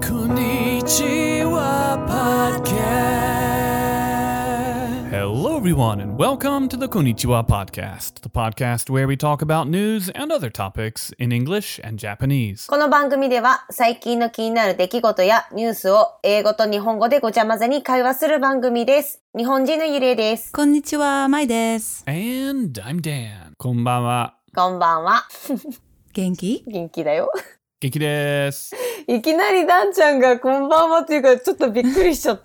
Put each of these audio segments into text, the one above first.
Konnichiwa Podcast. Hello, everyone, and welcome to the Konnichiwa Podcast, the podcast where we talk about news and other topics in English and Japanese. この番組では最近の気になる出来事やニュースを英語と日本語でごちゃ混ぜに会話する番組です。日本人のゆりえです。 こんにちは、まいです。 And I'm Dan. こんばんは。 こんばんは。 元気？ 元気だよ。 元気です。 いきなりダンちゃんがこんばんはっていうからちょっとびっくりしちゃった。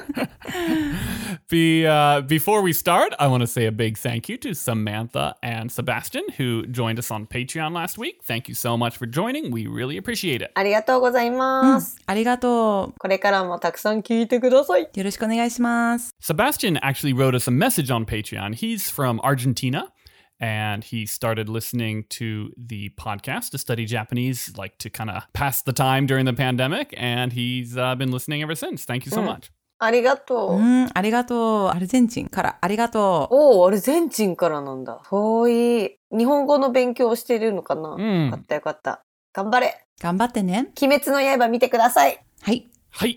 Before we start, I want to say a big thank you to Samantha and Sebastian who joined us on Patreon last week. Thank you so much for joining. We really appreciate it. ありがとうございます。 ありがとう。 これからもたくさん聞いてください。 よろしくお願いします。 Sebastian actually wrote us a message on Patreon. He's from Argentina.And he started listening to the podcast to study Japanese, like to kind of pass the time during the pandemic. And he's been listening ever since. Thank you so much. ありがとう。 ありがとう。アルゼンチンからありがとう。 おー、アルゼンチンからなんだ。遠い。日本語の勉強をしているのかな、よかったよかった。頑張れ。 頑張ってね。 鬼滅の刃見てください。 はい。 はい。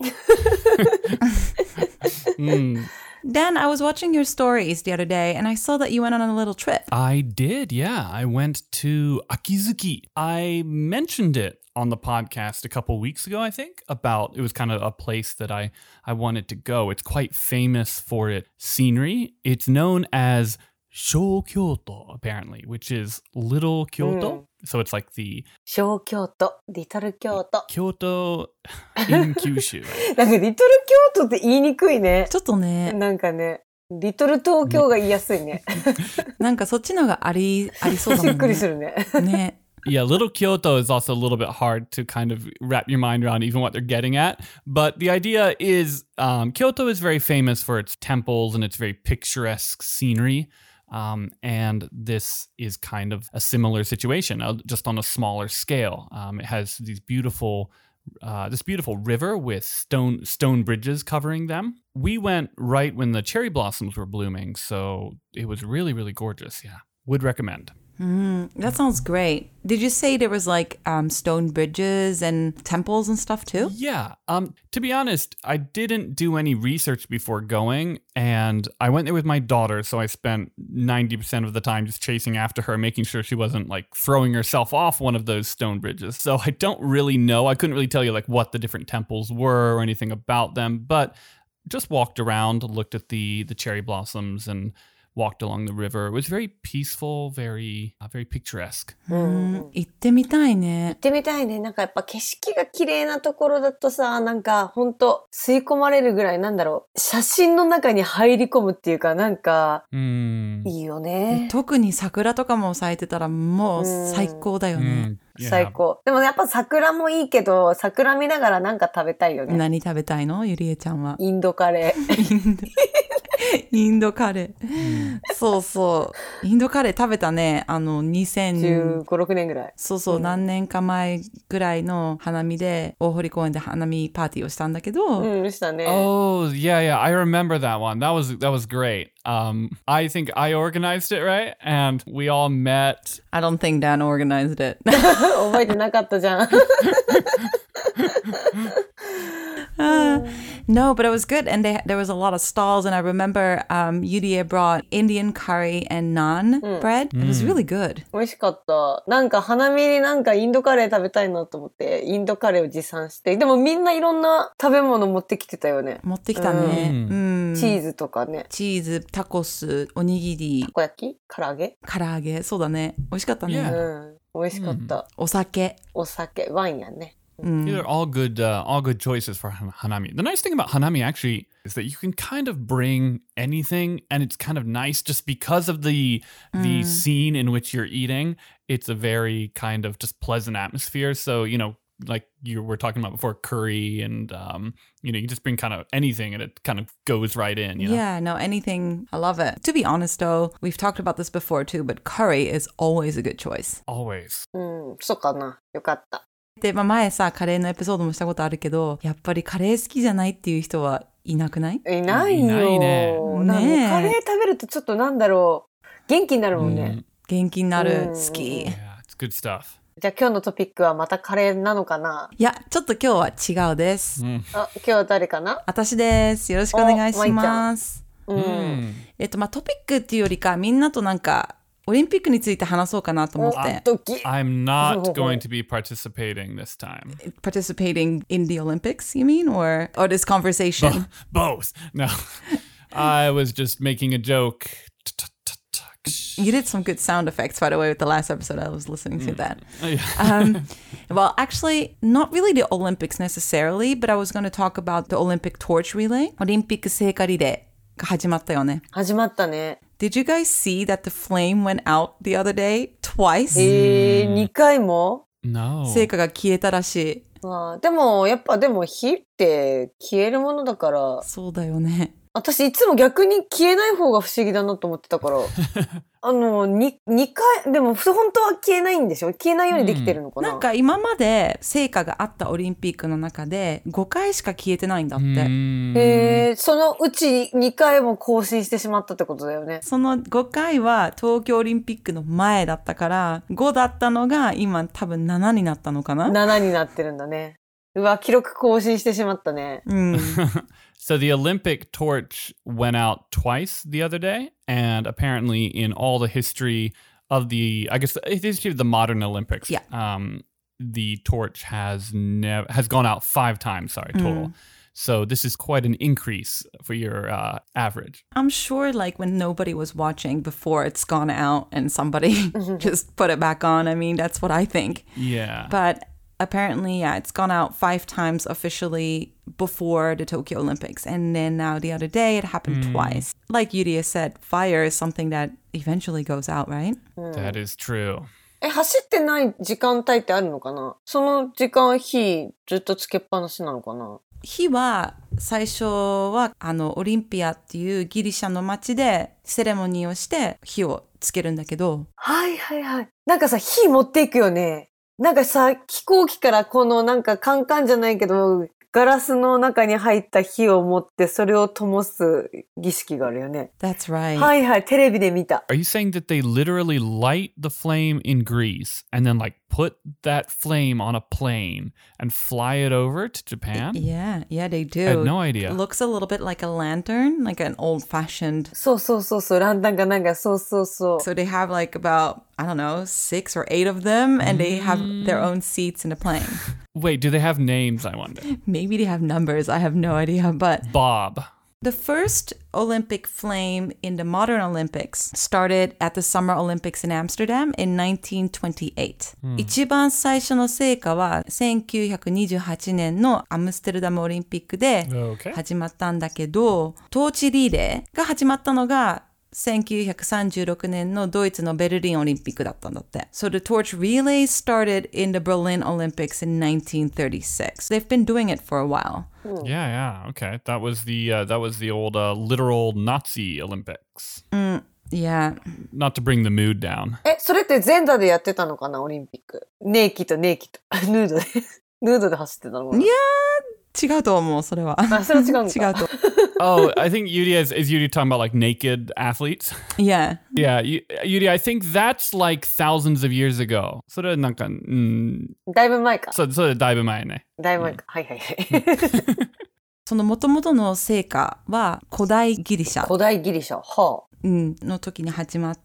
Dan, I was watching your stories the other day and I saw that you went on a little trip. I did, yeah. I went to Akizuki. I mentioned it on the podcast a couple weeks ago, I think, about it was kind of a place that I wanted to go. It's quite famous for its scenery. It's known as Shou Kyoto, apparently, which is Little Kyoto. So it's like the 小京都、リトル京都。 Kyoto in Kyushu. なんかリトル京都って言いにくいね。 ちょっとね。 なんかね、リトル東京が言いやすいね。 なんかそっちのがありそうだもんね。 びっくりするね。 ね。 Yeah, Little Kyoto is also a little bit hard to kind of wrap your mind around even what they're getting at. But the idea is Kyoto is very famous for its temples and its very picturesque scenery.And this is kind of a similar situation, just on a smaller scale. It has these beautiful, this beautiful river with stone bridges covering them. We went right when the cherry blossoms were blooming, so it was really, really gorgeous. Yeah, would recommend. That sounds great. Did you say there was like stone bridges and temples and stuff too? Yeah. To be honest, I didn't do any research before going, and I went there with my daughter, so I spent 90% of the time just chasing after her, making sure she wasn't like throwing herself off one of those stone bridges. So I don't really know. I couldn't really tell you like what the different temples were or anything about them, but just walked around, looked at the cherry blossoms and walked along the river. It was very peaceful, very picturesque. 行ってみたいね。 行ってみたいね。なんかやっぱ景色が綺麗なところだとさ、なんかほんと吸い込まれるぐらいなんだろう。写真の中に入り込むっていうかなんかいいよね。 特に桜とかも咲いてたらもう最高だよね。 最高。でもやっぱ桜もいいけど、桜見ながらなんか食べたいよね。 何食べたいの？ゆりえちゃんは。 インドカレー。 インドカレー。そうそう。インドカレー食べたね。2015、 6年ぐらい。 そうそう、何年か前ぐらいの花見で、大堀公園で花見パーティーをしたんだけど。 したね。 Oh, yeah. I remember that one. That was great. I think I organized it, right? And we all met. I don't think Dan organized it. 覚えてなかったじゃん。 No, but it was good. And there was a lot of stalls. And I remember Yurie brought Indian curry and naan bread. It was really good. 美味しかった。なんか花見になんかインドカレー食べたいなと思って、インドカレーを持参して。でもみんないろんな食べ物持ってきてたよね。 持ってきたね。 チーズとかね。 チーズ、タコス、おにぎり。 たこ焼き？唐揚げ？ 唐揚げ。そうだね。美味しかったね。 美味しかった。 お酒、 ワインやね。 These are all good choices for hanami. The nice thing about hanami actually is that you can kind of bring anything, and it's kind of nice just because of the scene in which you're eating. It's a very kind of just pleasant atmosphere. So, like you were talking about before, curry and, you just bring kind of anything and it kind of goes right in, Yeah, no, anything. I love it. To be honest, though, we've talked about this before too, but curry is always a good choice. Always. そうかな。よかった。 で、前さ、カレーのエピソードもしたことあるけど、やっぱりカレー好きじゃないっていう人はいなくない？ いないよ。 いないね。 カレー食べるとちょっとなんだろう。元気になるもんね。 元気になる。好き。 Yeah, it's good stuff. じゃあ今日のトピックはまたカレーなのかな？ いや、ちょっと今日は違うです。 あ、今日は誰かな？ 私です。よろしくお願いします。トピックっていうよりか、みんなとなんか、オリンピックについて話そうかなと思って。 I'm not going to be participating this time. Participating in the Olympics, you mean? Or this conversation? Both. No. I was just making a joke. You did some good sound effects, by the way, with the last episode. I was listening to that. Well, actually, not really the Olympics necessarily, but I was going to talk about the Olympic torch relay. オリンピック聖火リレーが始まったよね。 始まったね。 Did you guys see that the flame went out the other day twice? 2回も？ No. 聖火が消えたらしい。 でも、やっぱでも火って消えるものだから。 そうだよね。 私いつも逆に消えない方が不思議だなと思ってたから。2回、でも本当は消えないんでしょ？消えないようにできてるのかな？ なんか今まで聖火があったオリンピックの中で5回しか消えてないんだって。 そのうち2回も更新してしまったってことだよね。 その5回は東京オリンピックの前だったから、5だったのが今多分7になったのかな？ 7 になってるんだね。うわ、記録更新してしまったね。 So the Olympic torch went out twice the other day, and apparently in all the history of I guess the history of the modern Olympics, the torch has gone out 5 times, total. So this is quite an increase for your average. I'm sure like when nobody was watching before it's gone out and somebody just put it back on. I mean, that's what I think. Yeah. But apparently, it's gone out 5 times officially before the Tokyo Olympics. And then now the other day, it happened twice. Like Yuria said, fire is something that eventually goes out, right? That is true. 走ってない時間帯ってあるのかな？その時間火ずっとつけっぱなしなのかな？ 火は最初はオリンピアっていうギリシャの町でセレモニーをして火をつけるんだけど。 はいはいはい。なんかさ、火持っていくよね。なんかさ、飛行機からこのなんかカンカンじゃないけど、ガラスの中に入った火を持ってそれを灯す儀式があるよね。 That's right. はいはい、テレビで見た。 Are you saying that they literally light the flame in Greece and then like put that flame on a plane and fly it over to Japan? Yeah, they do. I had no idea. It looks a little bit like a lantern, like an old-fashioned. そう、ランタンかなんか、そう。 So they have like about, I don't know, 6 or 8 of them, and they have their own seats in the plane. Wait, do they have names, I wonder? Maybe they have numbers. I have no idea, but... Bob. The first Olympic flame in the modern Olympics started at the Summer Olympics in Amsterdam in 1928. 一番最初の聖火は1928年のアムステルダムオリンピックで始まったんだけど、トーチリレーが始まったのが1936年のドイツのベルリンオリンピックだったんだって。So the torch relay started in the Berlin Olympics in 1936. They've been doing it for a while. Yeah, okay. That was the old literal Nazi Olympics. Yeah. Not to bring the mood down. それって全裸でやってたのかな、オリンピック。ネイキとヌードで走ってたのかな。 いやー、違うと思う、それは。 それは違うのか。 違うと。 Oh, I think Yuri is Yuri talking about like naked athletes? Yeah. Yeah, Yuri, I think that's like thousands of years ago. それはなんか、 だいぶ前か。 それだいぶ前ね。 だいぶ前か。はい。 その元々の聖火は古代ギリシャ。 古代ギリシャ。はあ。 の時に始まって、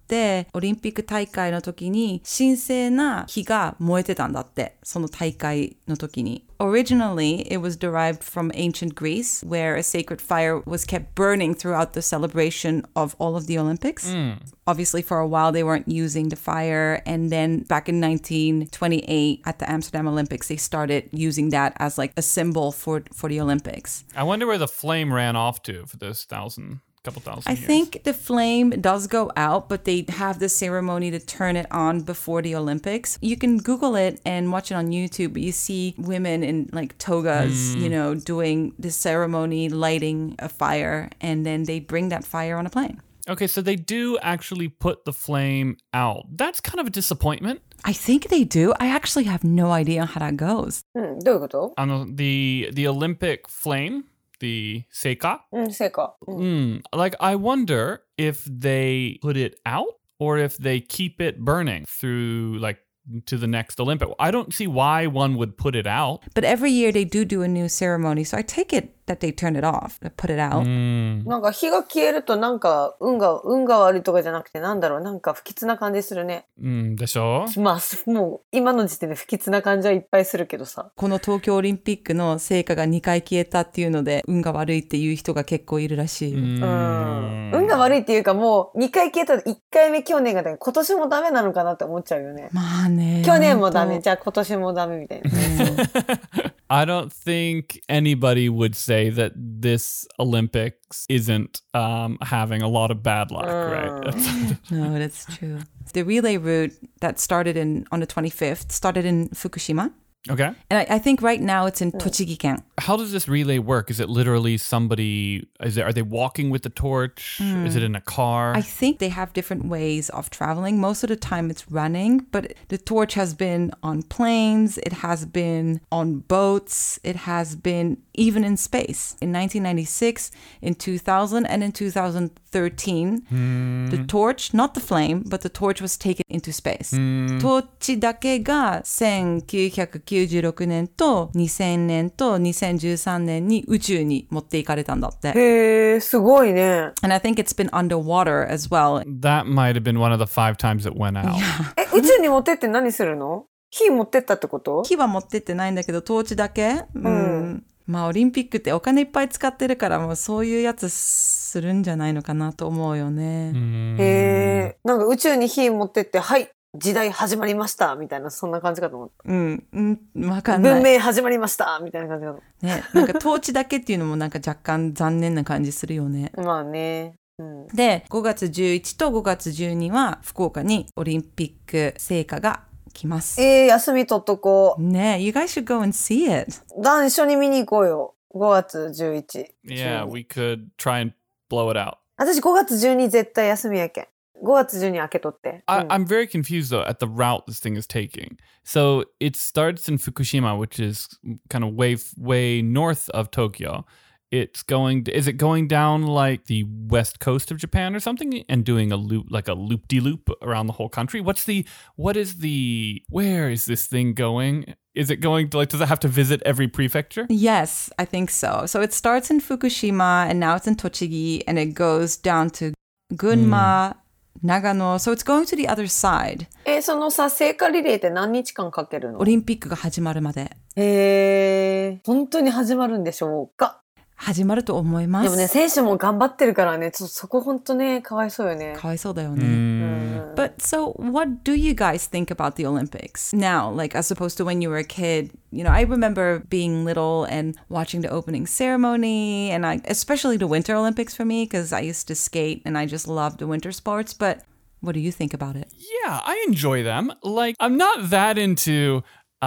オリンピック大会の時に神聖な火が燃えてたんだって、その大会の時に。Originally, it was derived from ancient Greece, where a sacred fire was kept burning throughout the celebration of all of the Olympics. Obviously, for a while, they weren't using the fire. And then back in 1928, at the Amsterdam Olympics, they started using that as like a symbol for the Olympics. I wonder where the flame ran off to for those couple thousand years. I think the flame does go out, but they have the ceremony to turn it on before the Olympics. You can Google it and watch it on YouTube, but you see women in like togas, doing the ceremony, lighting a fire, and then they bring that fire on a plane. Okay, so they do actually put the flame out. That's kind of a disappointment. I think they do. I actually have no idea how that goes. どういうこと？ The Olympic flame, the seika. 聖火。 Like, I wonder if they put it out or if they keep it burning through like to the next Olympic. I don't see why one would put it out. But every year they do a new ceremony, so I take it that they turn it off, put it out. なんか火が消えるとなんか運が悪いとかじゃなくてなんだろう、なんか不吉な感じするね。 でしょ？ まあもう今の時点で不吉な感じはいっぱいするけどさ。 この東京オリンピックの聖火が2回消えたっていうので運が悪いっていう人が結構いるらしい。 運が悪いっていうかもう2回消えたら1回目去年が今年もダメなのかなって思っちゃうよね。 まあね。 去年もダメ、じゃあ今年もダメみたいな。 I don't think anybody would say that this Olympics isn't having a lot of bad luck, right? No, that's true. The relay route that started on the 25th started in Fukushima. Okay. And I think right now it's in Tochigi-ken. How does this relay work? Is it literally somebody, are they walking with the torch? Is it in a car? I think they have different ways of traveling. Most of the time it's running, but the torch has been on planes, it has been on boats, it has been even in space. In 1996, in 2000, and in 2013, the torch, not the flame, but the torch was taken into space. トーチだけが1996年と2000年と2013年に宇宙に持っていかれたんだって。 へー、すごいね。 And I think it's been underwater as well. That might have been one of the 5 times it went out. 宇宙に持ってって何するの？火持ってったってこと？ 火は持ってってないんだけど、トーチだけ？まあオリンピックってお金いっぱい使ってるからもうそういうやつするんじゃないのかなと思うよね。 へー、なんか宇宙に火持ってって、はい、時代始まりましたみたいな、そんな感じかと思った。 わかんない。 文明始まりましたみたいな感じかと思った。 ね、なんかトーチだけっていうのもなんか若干残念な感じするよね。 まあね。 で、5月11と5月12は福岡にオリンピック聖火が来ます。 休み取っとこう。 ね、you guys should go and see it. 一緒に見に行こうよ。5月11。 Yeah, we could try and blow it out. 私5月12絶対休みやけん。5月12開けとって。 I'm very confused though at the route this thing is taking. So it starts in Fukushima, which is kind of way north of Tokyo. Is it going down like the west coast of Japan or something and doing a loop, like a loop-de-loop around the whole country? Where is this thing going? Is it going to, does it have to visit every prefecture? Yes, I think so. So it starts in Fukushima and now it's in Tochigi and it goes down to Gunma, Nagano. So it's going to the other side. そのさ、聖火リレーって何日間かけるの？ オリンピックが始まるまで。 本当に始まるんでしょうか？ 始まると思います。 でもね、選手も頑張ってるからね、ちょっとそこ本当ね、かわいそうよね。 かわいそうだよね。But so, what do you guys think about the Olympics now? Like, as opposed to when you were a kid, you know, I remember being little and watching the opening ceremony, and especially the Winter Olympics for me, because I used to skate and I just loved the winter sports. But what do you think about it? Yeah, I enjoy them. Like, I'm not that into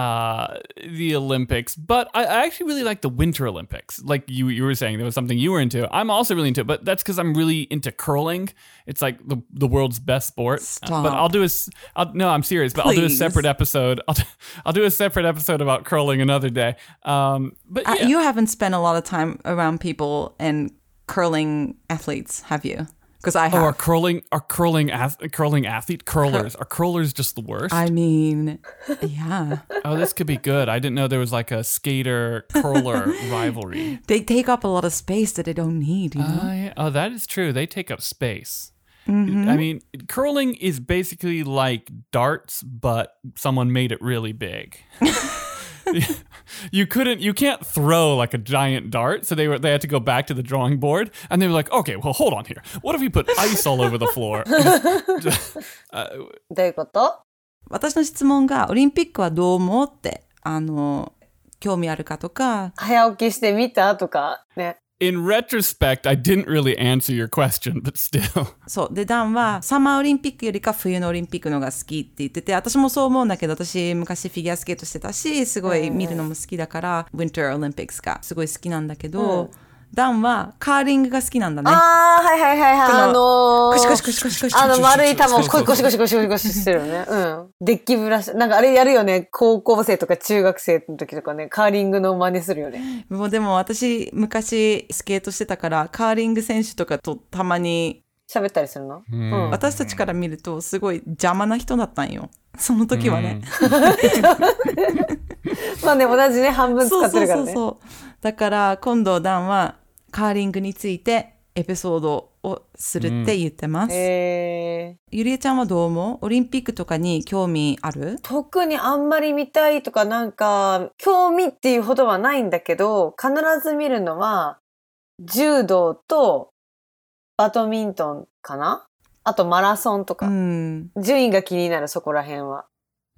the Olympics, but I actually really like the Winter Olympics. Like you were saying, there was something you were into. I'm also really into it, but that's because I'm really into curling. It's like the world's best sport. Stop. But no, I'm serious. But Please. I'll do a separate episode. I'll do a separate episode about curling another day. But yeah. You haven't spent a lot of time around people and curling athletes, have you? Because I have. Are curling athlete curlers? Are curlers just the worst? I mean, yeah. Oh, this could be good. I didn't know there was like a skater curler rivalry. They take up a lot of space that they don't need, you know? Yeah. Oh, that is true. They take up space. I mean, curling is basically like darts, but someone made it really big. You can't throw like a giant dart, so they had to go back to the drawing board, and they were like, okay, well, hold on here. What if we put ice all over the floor? どういうこと？ 私の質問がオリンピックはどう思うって興味あるかとか。 早起きしてみたとかね。 In retrospect, I didn't really answer your question, but still. そう。で、ダンはサマーオリンピックよりか冬のオリンピックのが好きって言ってて、私もそう思うんだけど、私昔フィギュアスケートしてたし、すごい見るのも好きだから、Winter Olympics がすごい好きなんだけど、ダンはカーリングが好きなんだね。 はいはいはいはい。 コシコシコシコシコシ。 丸い球をコシコシコシコシコシしてるよね。デッキブラシ。なんかあれやるよね。高校生とか中学生の時とかね、カーリングの真似するよね。 もうでも私昔スケートしてたから、カーリング選手とかとたまに喋ったりするの？ 私たちから見るとすごい邪魔な人だったんよ。その時はね。 まあね、同じね、半分使ってるからね。 そう。だから今度ダンはカーリングについてエピソードをするって言ってます。ゆりえちゃんはどう思う？オリンピックとかに興味ある？ 特にあんまり見たいとかなんか興味っていうほどはないんだけど、必ず見るのは柔道とバドミントンかな？あとマラソンとか。順位が気になる、そこら辺は。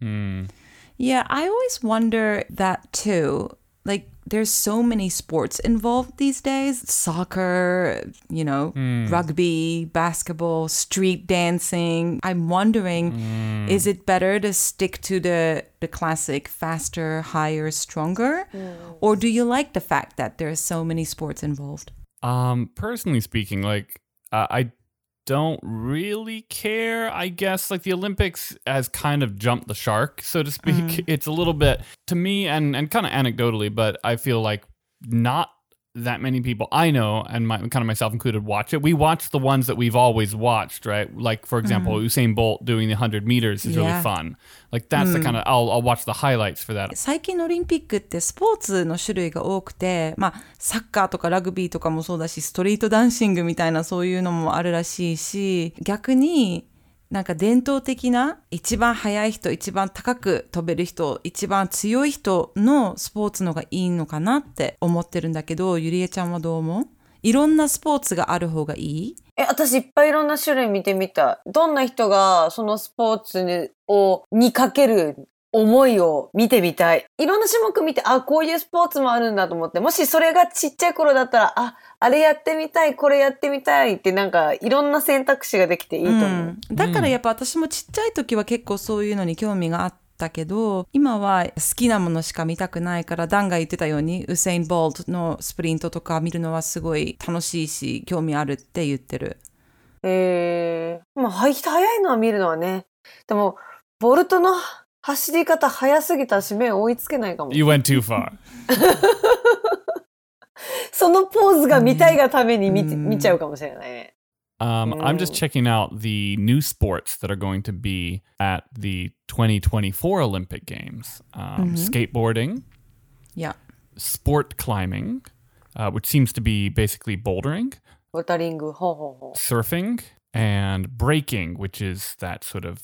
Yeah, I always wonder that too. Like, there's so many sports involved these days. Soccer, you know, rugby, basketball, street dancing. I'm wondering, is it better to stick to the classic faster, higher, stronger? Or do you like the fact that there are so many sports involved? Personally speaking, like, I don't really care, I guess. Like the Olympics has kind of jumped the shark, so to speak. It's a little bit, to me, and kind of anecdotally, but I feel like not that many people I know, and kind of myself included, watch it. We watch the ones that we've always watched, right? Like, for example, Usain Bolt doing the 100 meters is really fun. Like, that's the kind of, I'll watch the highlights for that. 最近のオリンピックってスポーツの種類が多くて、まあ、サッカーとかラグビーとかもそうだし、ストリートダンシングみたいなそういうのもあるらしいし、逆になんか伝統的な一番速い人、一番高く飛べる人、一番強い人のスポーツのがいいのかなって思ってるんだけど、ゆりえちゃんはどう思う？いろんなスポーツがある方がいい？ 私いっぱいいろんな種類見てみた。どんな人がそのスポーツにかける思いを見てみたい。いろんな種目見て、こういうスポーツもあるんだと思って、もしそれがちっちゃい頃だったら、あれやってみたい、これやってみたいってなんかいろんな選択肢ができていいと思う。 だからやっぱ私もちっちゃい時は結構そういうのに興味があったけど、今は好きなものしか見たくないから、ダンが言ってたようにウセイン・ボルトのスプリントとか見るのはすごい楽しいし、興味あるって言ってる。 まあ早いのは見るのはね。でもボルトの走り方早すぎたし目追いつけないかも。 You went too far. そのポーズが見たいがために見ちゃうかもしれないね。 I'm just checking out the new sports that are going to be at the 2024 Olympic Games. Skateboarding. Yeah. Sport climbing, which seems to be basically bouldering. ボルダリング、 surfing, and breaking, which is that sort of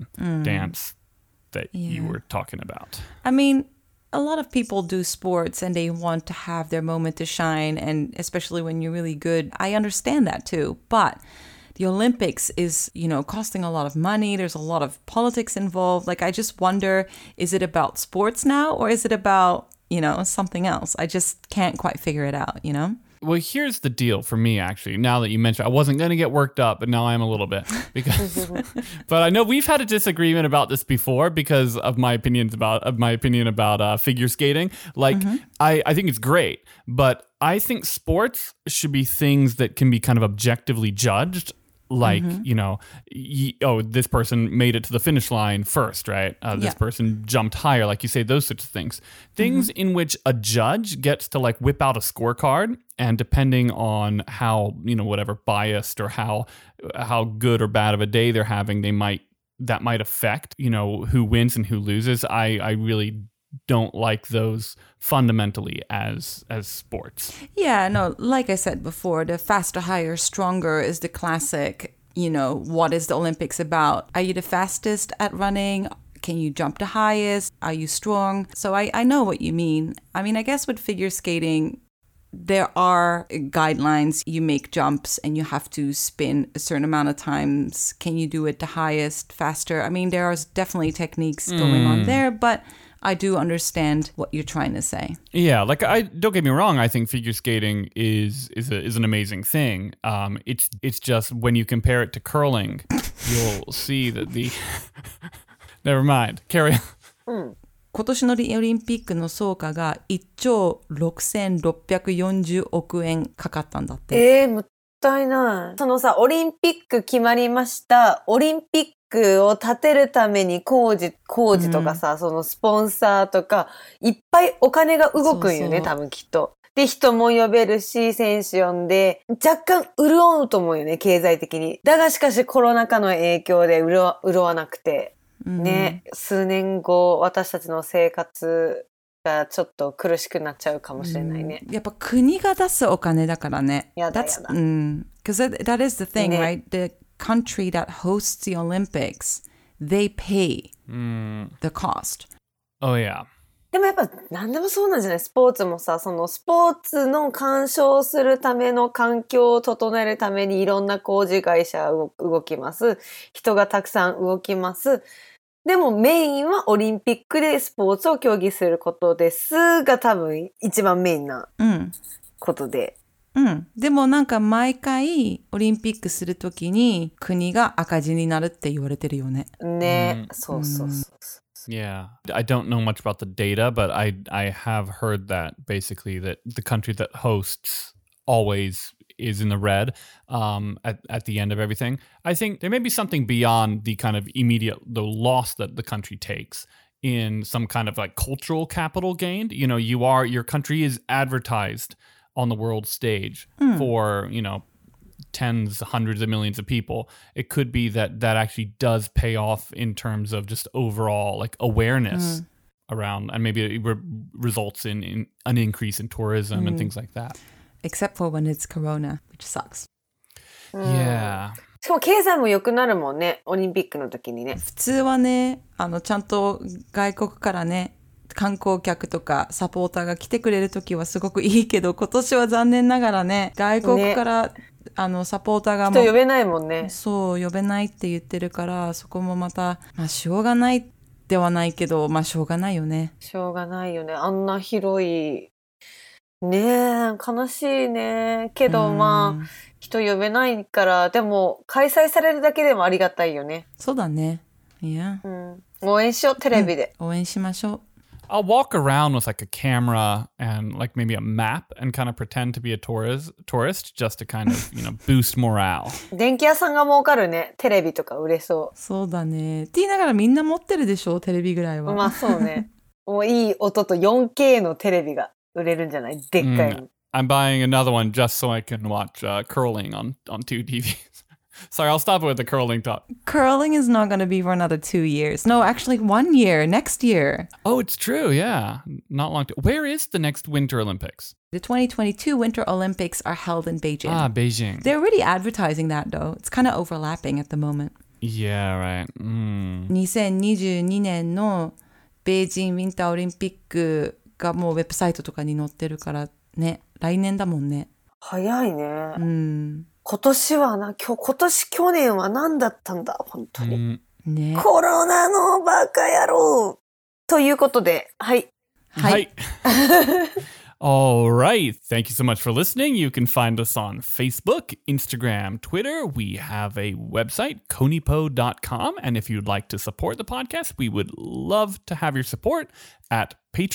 dance that you were talking about. I mean, a lot of people do sports and they want to have their moment to shine, and especially when you're really good. I understand that too, but the Olympics is, you know, costing a lot of money. There's a lot of politics involved. Like, I just wonder, is it about sports now or is it about, you know, something else? I just can't quite figure it out, you know? Well, here's the deal for me, actually. Now that you mentioned, I wasn't going to get worked up, but now I am a little bit. But I know we've had a disagreement about this before because of my opinion about figure skating. Like, I think it's great, but I think sports should be things that can be kind of objectively judged. Like, you know, this person made it to the finish line first, right? This person jumped higher, like you say, those sorts of things. Things in which a judge gets to like whip out a scorecard, and depending on how, you know, whatever biased or how good or bad of a day they're having, that might affect, you know, who wins and who loses. I really don't like those fundamentally as sports. Yeah, no, like I said before, the faster, higher, stronger is the classic, you know, what is the Olympics about? Are you the fastest at running? Can you jump the highest? Are you strong? So I know what you mean. I mean, I guess with figure skating, there are guidelines. You make jumps and you have to spin a certain amount of times. Can you do it the highest, faster? I mean, there are definitely techniques going on there, but I do understand what you're trying to say. Yeah, like don't get me wrong. I think figure skating is an amazing thing. It's just when you compare it to curling, you'll see that the never mind. Carry on. 今年のオリンピックの総価が1兆6640億円かかったんだって。 もったいない。そのさ、オリンピック決まりました。オリンピックを立てるために工事とかさ、そのスポンサーとか、いっぱいお金が動くんよね、多分きっと。 で、人も呼べるし、選手呼んで、若干潤うと思うよね、経済的に。だがしかしコロナ禍の影響で潤わなくて、ね、数年後、私たちの生活がちょっと苦しくなっちゃうかもしれないね。 やっぱ国が出すお金だからね。 やだやだ。 Because that is the thing, ね、right? The country that hosts the Olympics, they pay the cost. Oh, yeah. でもやっぱ何でもそうなんじゃない？スポーツもさ、そのスポーツの鑑賞するための環境を整えるためにいろんな工事会社動きます。人がたくさん動きます。でもメインはオリンピックでスポーツを競技することですが多分一番メインなことで。 でもなんか毎回オリンピックするときに国が赤字になるって言われてるよね。 ね、そうそうそう。 Yeah, I don't know much about the data, but I have heard that basically that the country that hosts always is in the red at the end of everything. I think there may be something beyond the kind of the loss that the country takes in some kind of like cultural capital gained. You know, your country is advertised on the world stage for, you know, tens, hundreds of millions of people. It could be that actually does pay off in terms of just overall like awareness around, and maybe it results in an increase in tourism and things like that. Except for when it's Corona, which sucks. Yeah. しかも経済も良くなるもんね、オリンピックの時にね。 普通はね、ちゃんと外国からね、観光客とかサポーターが来てくれる時はすごくいいけど、今年は残念ながらね、外国から、サポーターがもう人呼べないもんね。 そう、呼べないって言ってるから、そこもまた、しょうがないではないけど、しょうがないよね。 しょうがないよね。あんな広い。ねえ、悲しいね。けど人呼べないから、でも開催されるだけでもありがたいよね。 そうだね。いや。 応援しよう、テレビで。 応援しましょう。 I'll walk around with like a camera and like maybe a map and kind of pretend to be a tourist just to kind of, you know, boost morale. 電気屋さんが儲かるね。テレビとか売れそう。 そうだね。って言いながらみんな持ってるでしょ、テレビぐらいは。 まあそうね。もういい音と 4K のテレビが売れるんじゃない？でっかいの。 I'm buying another one just so I can watch curling on two TVs. Sorry, I'll stop it with the curling talk. Curling is not going to be for another 2 years. No, actually 1 year, next year. Oh, it's true, yeah. Not long. Where is the next Winter Olympics? The 2022 Winter Olympics are held in Beijing. Ah, Beijing. They're already advertising that though. It's kind of overlapping at the moment. Yeah, right. 2022年のベイジンウィンターオリンピックがもうウェブサイトとかに載ってるからね、来年だもんね。 早いね。今年去年は何だったんだ本当に、 ね、 コロナのバカ野郎ということで、はい。 All right. Thank you so much for listening. You can find us on Facebook, Instagram, Twitter. We have a website, konipo.com. And if you'd like to support the podcast, we would love to have your support at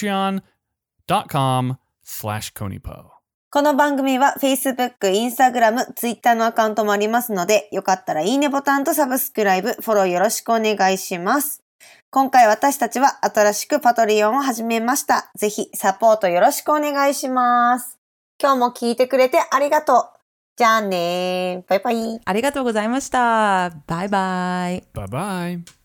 patreon.com/konipo. この番組は Facebook、Instagram、Twitter のアカウントもありますので、よかったらいいねボタンとサブスクライブ、フォローよろしくお願いします。今回私たちは新しくパトリオンを始めました。ぜひサポートよろしくお願いします。今日も聞いてくれてありがとう。じゃあねー。バイバイ。 ありがとうございました。バイバイ。 バイバイ。